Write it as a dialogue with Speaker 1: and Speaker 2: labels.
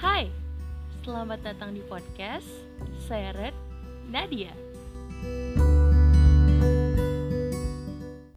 Speaker 1: Hai, selamat datang di podcast Saya Red Nadia.